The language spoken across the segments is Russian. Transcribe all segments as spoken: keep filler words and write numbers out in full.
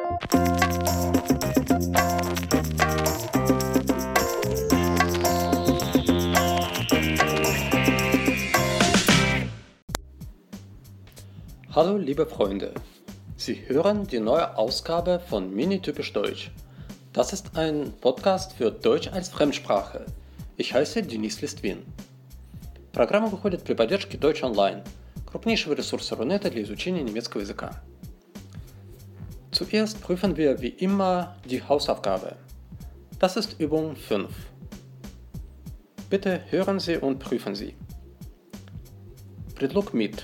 Hallo liebe Freunde, Sie hören die neue Ausgabe von Mini-Typisch Deutsch. Das ist ein podcast für Deutsch als Fremdsprache. Ich heiße Денис Листвин. Программа выходит при поддержке Deutsch Online, крупнейшего ресурса Рунета для изучения немецкого языка. Zuerst prüfen wir wie immer die Hausaufgabe. Das ist Übung fünf. Bitte hören Sie und prüfen Sie. Предлог mit.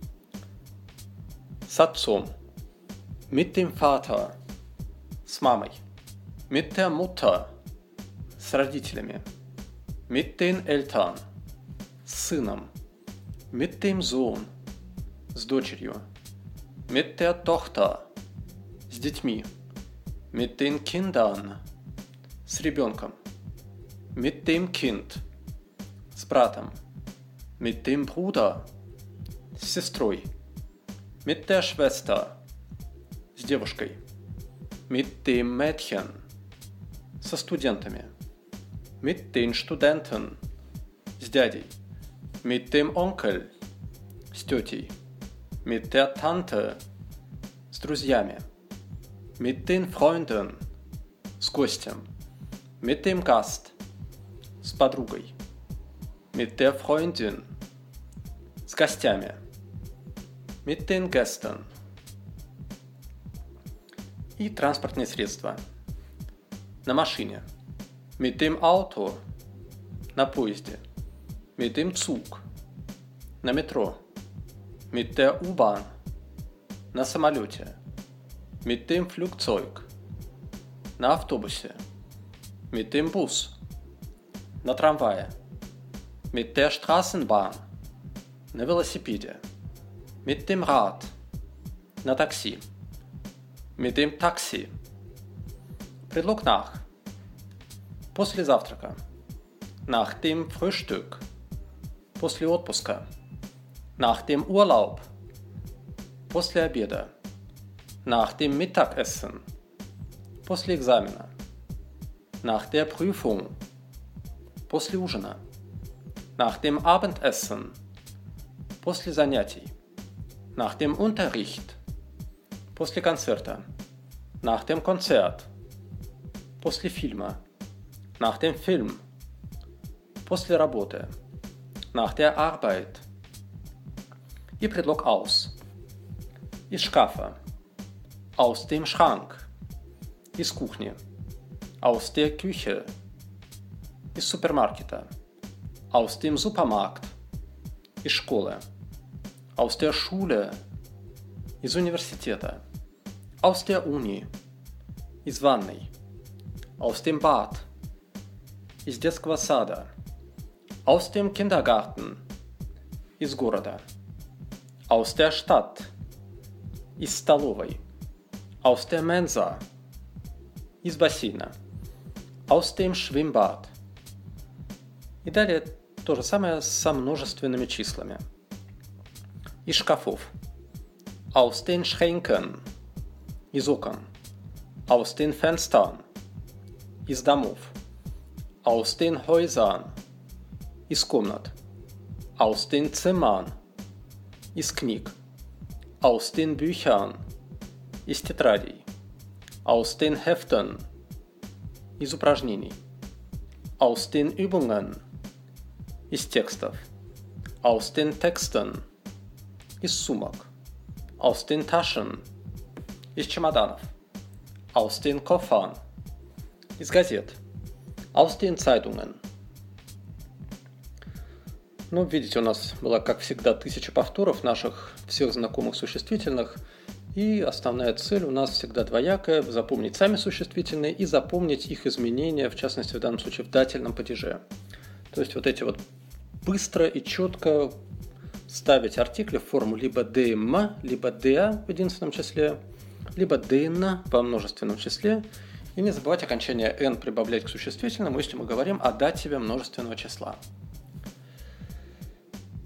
С отцом. Mit dem Vater. С мамой. Mit der Mutter. С родителями. Mit den Eltern. С сыном. Mit dem Sohn. С дочерью. Mit der Tochter. С детьми. Mit den Kindern. С ребенком. Mit dem Kind. С братом. Mit dem Bruder. С сестрой. Mit der Schwester. С девушкой. Mit dem Mädchen. Со студентами. Mit den Studenten. С дядей. Mit dem Onkel. С тетей. Mit der Tante. С друзьями. Mit den Freunden. С гостем. Mit dem Gast. С подругой. Mit der Freundin. С гостями. Mit den Gästen. И транспортные средства. На машине. Mit dem Auto. На поезде. Mit dem Zug. На метро. Mit der U-Bahn. На самолете. Mit dem Flugzeug. На автобусе. Mit dem Bus. На трамвае. Mit der Straßenbahn. На велосипеде. Mit dem Rad. На такси. Mit dem Taxi. Предлог nach. После завтрака. Nach dem Frühstück. После отпуска. Nach dem Urlaub. После обеда. Nach dem Mittagessen. После экзамена. Nach der Prüfung. После ужина. Nach dem Abendessen. После занятий. Nach dem Unterricht. После концерта. Nach dem Konzert. После фильма. Nach dem Film. После работы. Nach der Arbeit. И предлог aus. Из шкафа. Aus dem Schrank. Из кухни. Aus der Küche. Из супермаркета. Aus dem Supermarkt. Из школы. Aus der Schule. Из университета. Aus der Uni. Из ванной. Aus dem Bad. Из детского сада. Aus dem Kindergarten. Из города. Aus der Stadt. Из столовой. Aus der Mensa. Из бассейна. Aus dem Schwimmbad. И далее то же самое со множественными числами. Из шкафов. Aus den Schränken. Из окон. Aus den Fenstern. Из домов. Aus den Häusern. Из комнат. Aus den Zimmern. Из книг. Aus den Büchern. Из тетрадей. Aus den Heften. Из упражнений. Aus den Übungen. Из текстов. Aus den Texten. Из сумок. Aus den Taschen. Из чемоданов. Aus den Koffern. Из газет. Aus den Zeitungen. Ну, видите, у нас была, как всегда, тысяча повторов наших всех знакомых существительных. И основная цель у нас всегда двоякая – запомнить сами существительные и запомнить их изменения, в частности, в данном случае в дательном падеже. То есть вот эти вот быстро и четко ставить артикли в форму либо дм, либо да в единственном числе, либо дн во множественном числе. И не забывать окончание n прибавлять к существительному, если мы говорим о дативе множественного числа.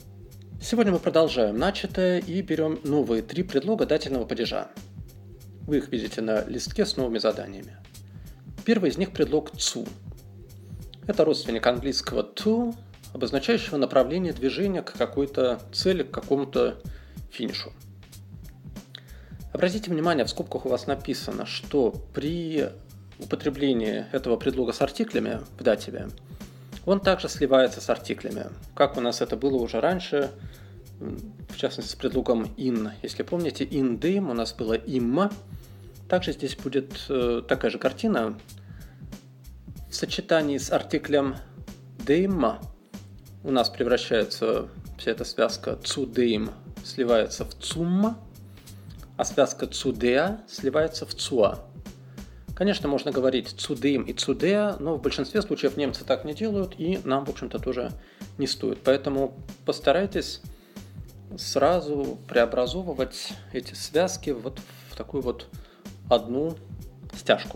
Сегодня мы продолжаем начатое и берем новые три предлога дательного падежа. Вы их видите на листке с новыми заданиями. Первый из них предлог «zu». Это родственник английского to, обозначающего направление движения к какой-то цели, к какому-то финишу. Обратите внимание, в скобках у вас написано, что при употреблении этого предлога с артиклями в дативе он также сливается с артиклями, как у нас это было уже раньше, в частности с предлогом in. Если помните, in dem у нас было im. Также здесь будет э, такая же картина. В сочетании с артиклем dem у нас превращается вся эта связка zu dem, сливается в zum, а связка zu der сливается в zur. Конечно, можно говорить zu dem и zu der, но в большинстве случаев немцы так не делают, и нам, в общем-то, тоже не стоит. Поэтому постарайтесь сразу преобразовывать эти связки вот в такую вот одну стяжку.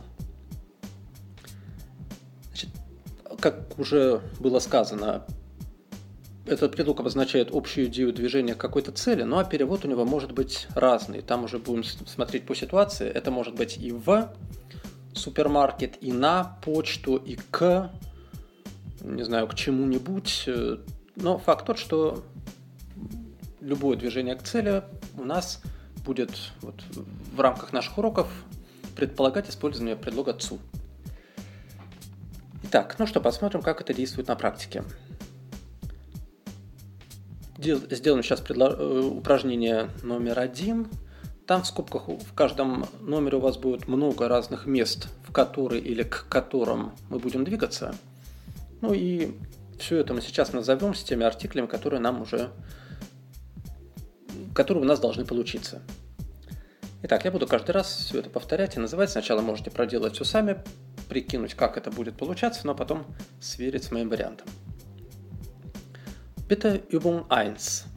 Значит, как уже было сказано, этот предлог обозначает общую идею движения к какой-то цели, ну а перевод у него может быть разный. Там уже будем смотреть по ситуации. Это может быть и в супермаркет, и на почту, и к, не знаю, к чему-нибудь. Но факт тот, что любое движение к цели у нас будет вот в рамках наших уроков предполагать использование предлога zu. Итак, ну что, посмотрим, как это действует на практике. Сделаем сейчас предло... упражнение номер один. Там в скобках в каждом номере у вас будет много разных мест, в которые или к которым мы будем двигаться. Ну и все это мы сейчас назовем с теми артиклями, которые нам уже, которые у нас должны получиться. Итак, я буду каждый раз все это повторять и называть. Сначала можете проделать все сами, прикинуть, как это будет получаться, но потом сверить с моим вариантом. Bitte Übung eins.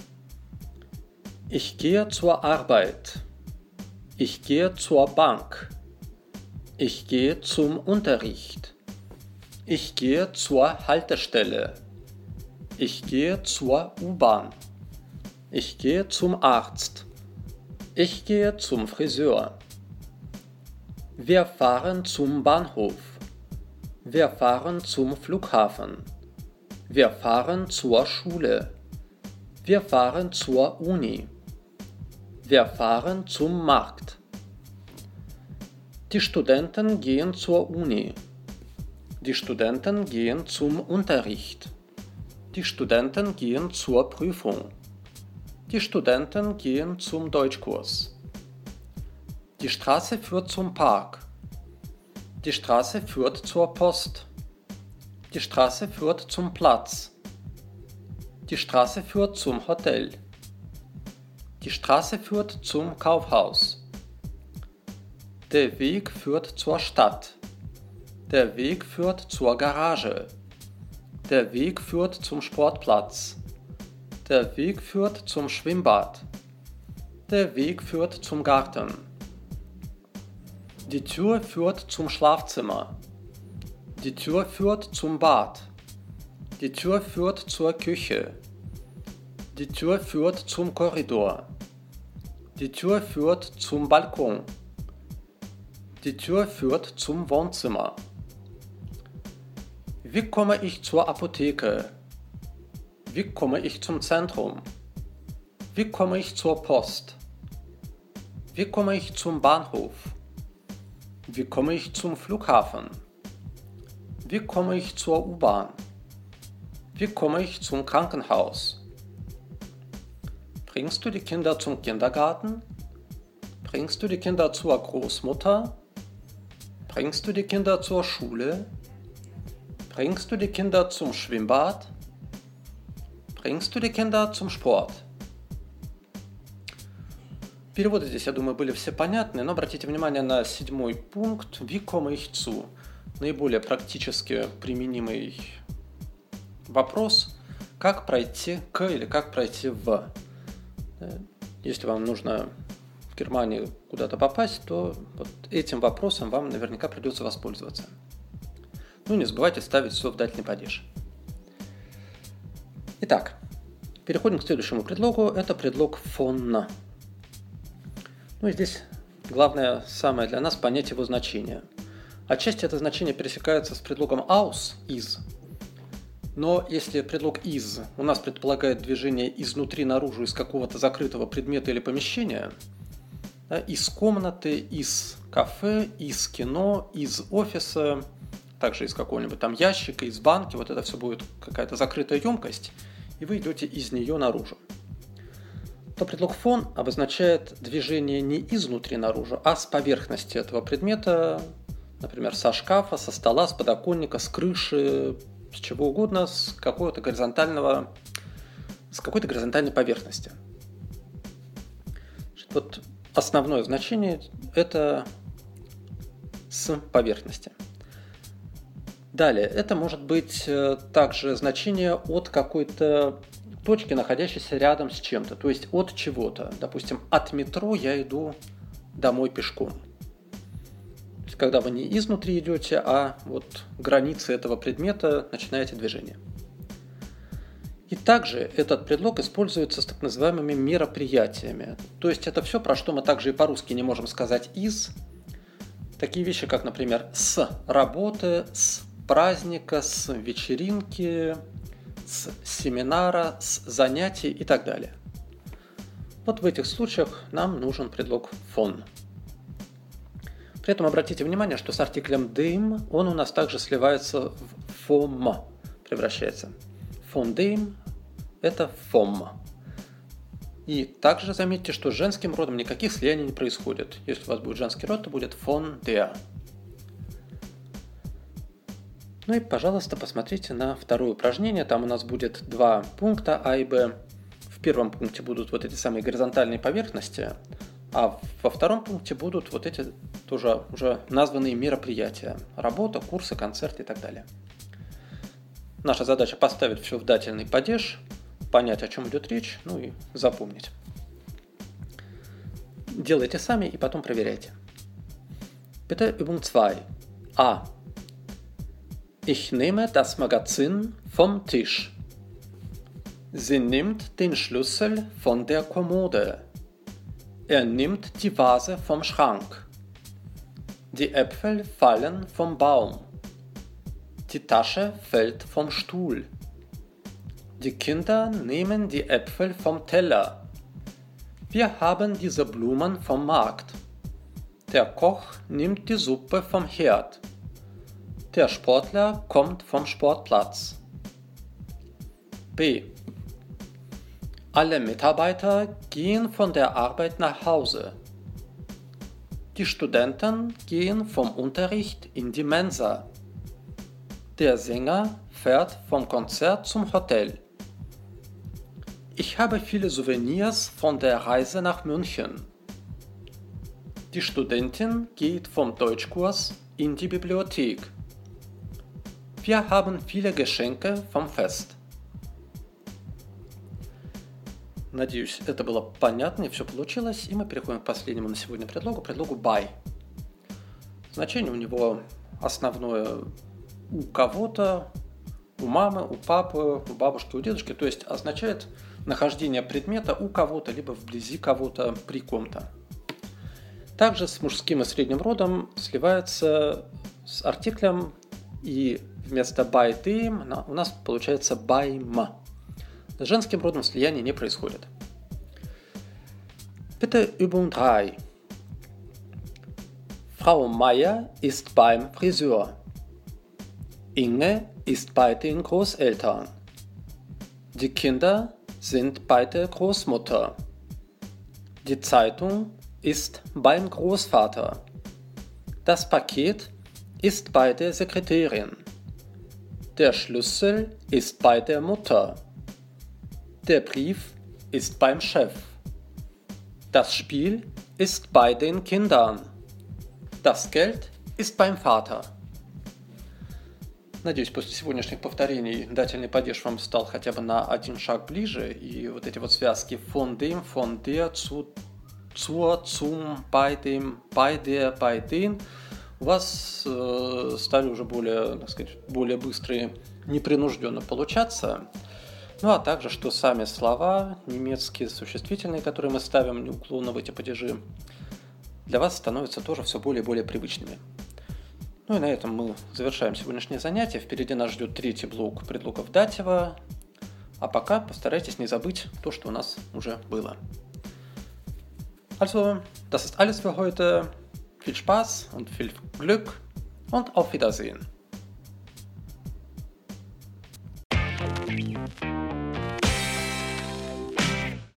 Ich gehe zur Arbeit. Ich gehe zur Bank. Ich gehe zum Unterricht. Ich gehe zur Haltestelle. Ich gehe zur U-Bahn. Ich gehe zum Arzt. Ich gehe zum Friseur. Wir fahren zum Bahnhof. Wir fahren zum Flughafen. Wir fahren zur Schule. Wir fahren zur Uni. Wir fahren zum Markt. Die Studenten gehen zur Uni. Die Studenten gehen zum Unterricht. Die Studenten gehen zur Prüfung. Die Studenten gehen zum Deutschkurs. Die Straße führt zum Park. Die Straße führt zur Post. Die Straße führt zum Platz. Die Straße führt zum Hotel. Die Straße führt zum Kaufhaus. Der Weg führt zur Stadt. Der Weg führt zur Garage. Der Weg führt zum Sportplatz. Der Weg führt zum Schwimmbad. Der Weg führt zum Garten. Die Tür führt zum Schlafzimmer. Die Tür führt zum Bad. Die Tür führt zur Küche. Die Tür führt zum Korridor. Die Tür führt zum Balkon. Die Tür führt zum Wohnzimmer. Wie komme ich zur Apotheke? Wie komme ich zum Zentrum? Wie komme ich zur Post? Wie komme ich zum Bahnhof? Wie komme ich zum Flughafen? Wie komme ich zur U-Bahn? Wie komme ich zum Krankenhaus? Bringst du die Kinder zum Kindergarten? Bringst du die Kinder zur Großmutter? Bringst du die Kinder zur Schule? Bringst du die Kinder zum Schwimmbad? Bringst du die Kinder zum Sport? Переводы здесь, я думаю, были все понятны, но обратите внимание на седьмой пункт «Wie komme ich zu?» Наиболее практически применимый вопрос, как пройти к или как пройти в. Если вам нужно в Германии куда-то попасть, то вот этим вопросом вам наверняка придется воспользоваться. Ну, не забывайте ставить все в дательный падеж. Итак, переходим к следующему предлогу. Это предлог von. Ну и здесь главное самое для нас понять его значение. Отчасти это значение пересекается с предлогом aus, из. Но если предлог из у нас предполагает движение изнутри наружу из какого-то закрытого предмета или помещения, да, из комнаты, из кафе, из кино, из офиса, также из какого-нибудь там ящика, из банки, вот это все будет какая-то закрытая емкость, и вы идете из нее наружу, то предлог фон обозначает движение не изнутри наружу, а с поверхности этого предмета, например, со шкафа, со стола, с подоконника, с крыши, с чего угодно, с какого-то горизонтального, с какой-то горизонтальной поверхности. Вот основное значение – это с поверхности. Далее, это может быть также значение от какой-то точки, находящейся рядом с чем-то, то есть от чего-то. Допустим, от метро я иду домой пешком. То есть, когда вы не изнутри идете, а вот границы этого предмета начинаете движение. И также этот предлог используется с так называемыми мероприятиями. То есть это все, про что мы также и по-русски не можем сказать из. Такие вещи, как, например, с работы, с праздника, с вечеринки, с семинара, с занятий и так далее. Вот в этих случаях нам нужен предлог von. При этом обратите внимание, что с артиклем dem он у нас также сливается в vom, превращается. Von dem – это vom. И также заметьте, что с женским родом никаких слияний не происходит. Если у вас будет женский род, то будет von der. Ну и, пожалуйста, посмотрите на второе упражнение. Там у нас будет два пункта А и Б. В первом пункте будут вот эти самые горизонтальные поверхности, а во втором пункте будут вот эти тоже уже названные мероприятия. Работа, курсы, концерты и так далее. Наша задача поставить все в дательный падеж, понять, о чем идет речь, ну и запомнить. Делайте сами и потом проверяйте. Bitte Übung zwei. А. Ich nehme das Magazin vom Tisch. Sie nimmt den Schlüssel von der Kommode. Er nimmt die Vase vom Schrank. Die Äpfel fallen vom Baum. Die Tasche fällt vom Stuhl. Die Kinder nehmen die Äpfel vom Teller. Wir haben diese Blumen vom Markt. Der Koch nimmt die Suppe vom Herd. Der Sportler kommt vom Sportplatz. B. Alle Mitarbeiter gehen von der Arbeit nach Hause. Die Studenten gehen vom Unterricht in die Mensa. Der Sänger fährt vom Konzert zum Hotel. Ich habe viele Souvenirs von der Reise nach München. Die Studentin geht vom Deutschkurs in die Bibliothek. Wir haben viele Geschenke vom Fest. Надеюсь, это было понятно и все получилось. И мы переходим к последнему на сегодня предлогу, предлогу by. Значение у него основное у кого-то, у мамы, у папы, у бабушки, у дедушки. То есть означает нахождение предмета у кого-то, либо вблизи кого-то, при ком-то. Также с мужским и средним родом сливается с артиклем, и вместо by dem у нас получается beim. С женским родом слияния не происходит. Bitte Übung drei. Frau Meier ist beim Friseur. Inge ist bei den Großeltern. Die Kinder sind bei der Großmutter. Die Zeitung ist beim Großvater. Das Paket ist bei der Sekretärin. Der Schlüssel ist bei der Mutter. Der Brief ist beim Chef. Das Spiel ist bei den Kindern. Das Geld ist beim Vater. Надеюсь, после сегодняшних повторений дательный падеж вам стал хотя бы на один шаг ближе, и вот эти вот связки von dem, von der, zu, zur, zum, bei dem, bei der, bei den у вас э, стали уже более, так сказать, более быстрые, непринужденно получаться. Ну а также, что сами слова, немецкие существительные, которые мы ставим неуклонно в эти падежи, для вас становятся тоже все более и более привычными. Ну и на этом мы завершаем сегодняшнее занятие. Впереди нас ждет третий блок предлогов датива. А пока постарайтесь не забыть то, что у нас уже было. Also, das ist alles für heute. Viel Spaß und viel Glück und auf Wiedersehen.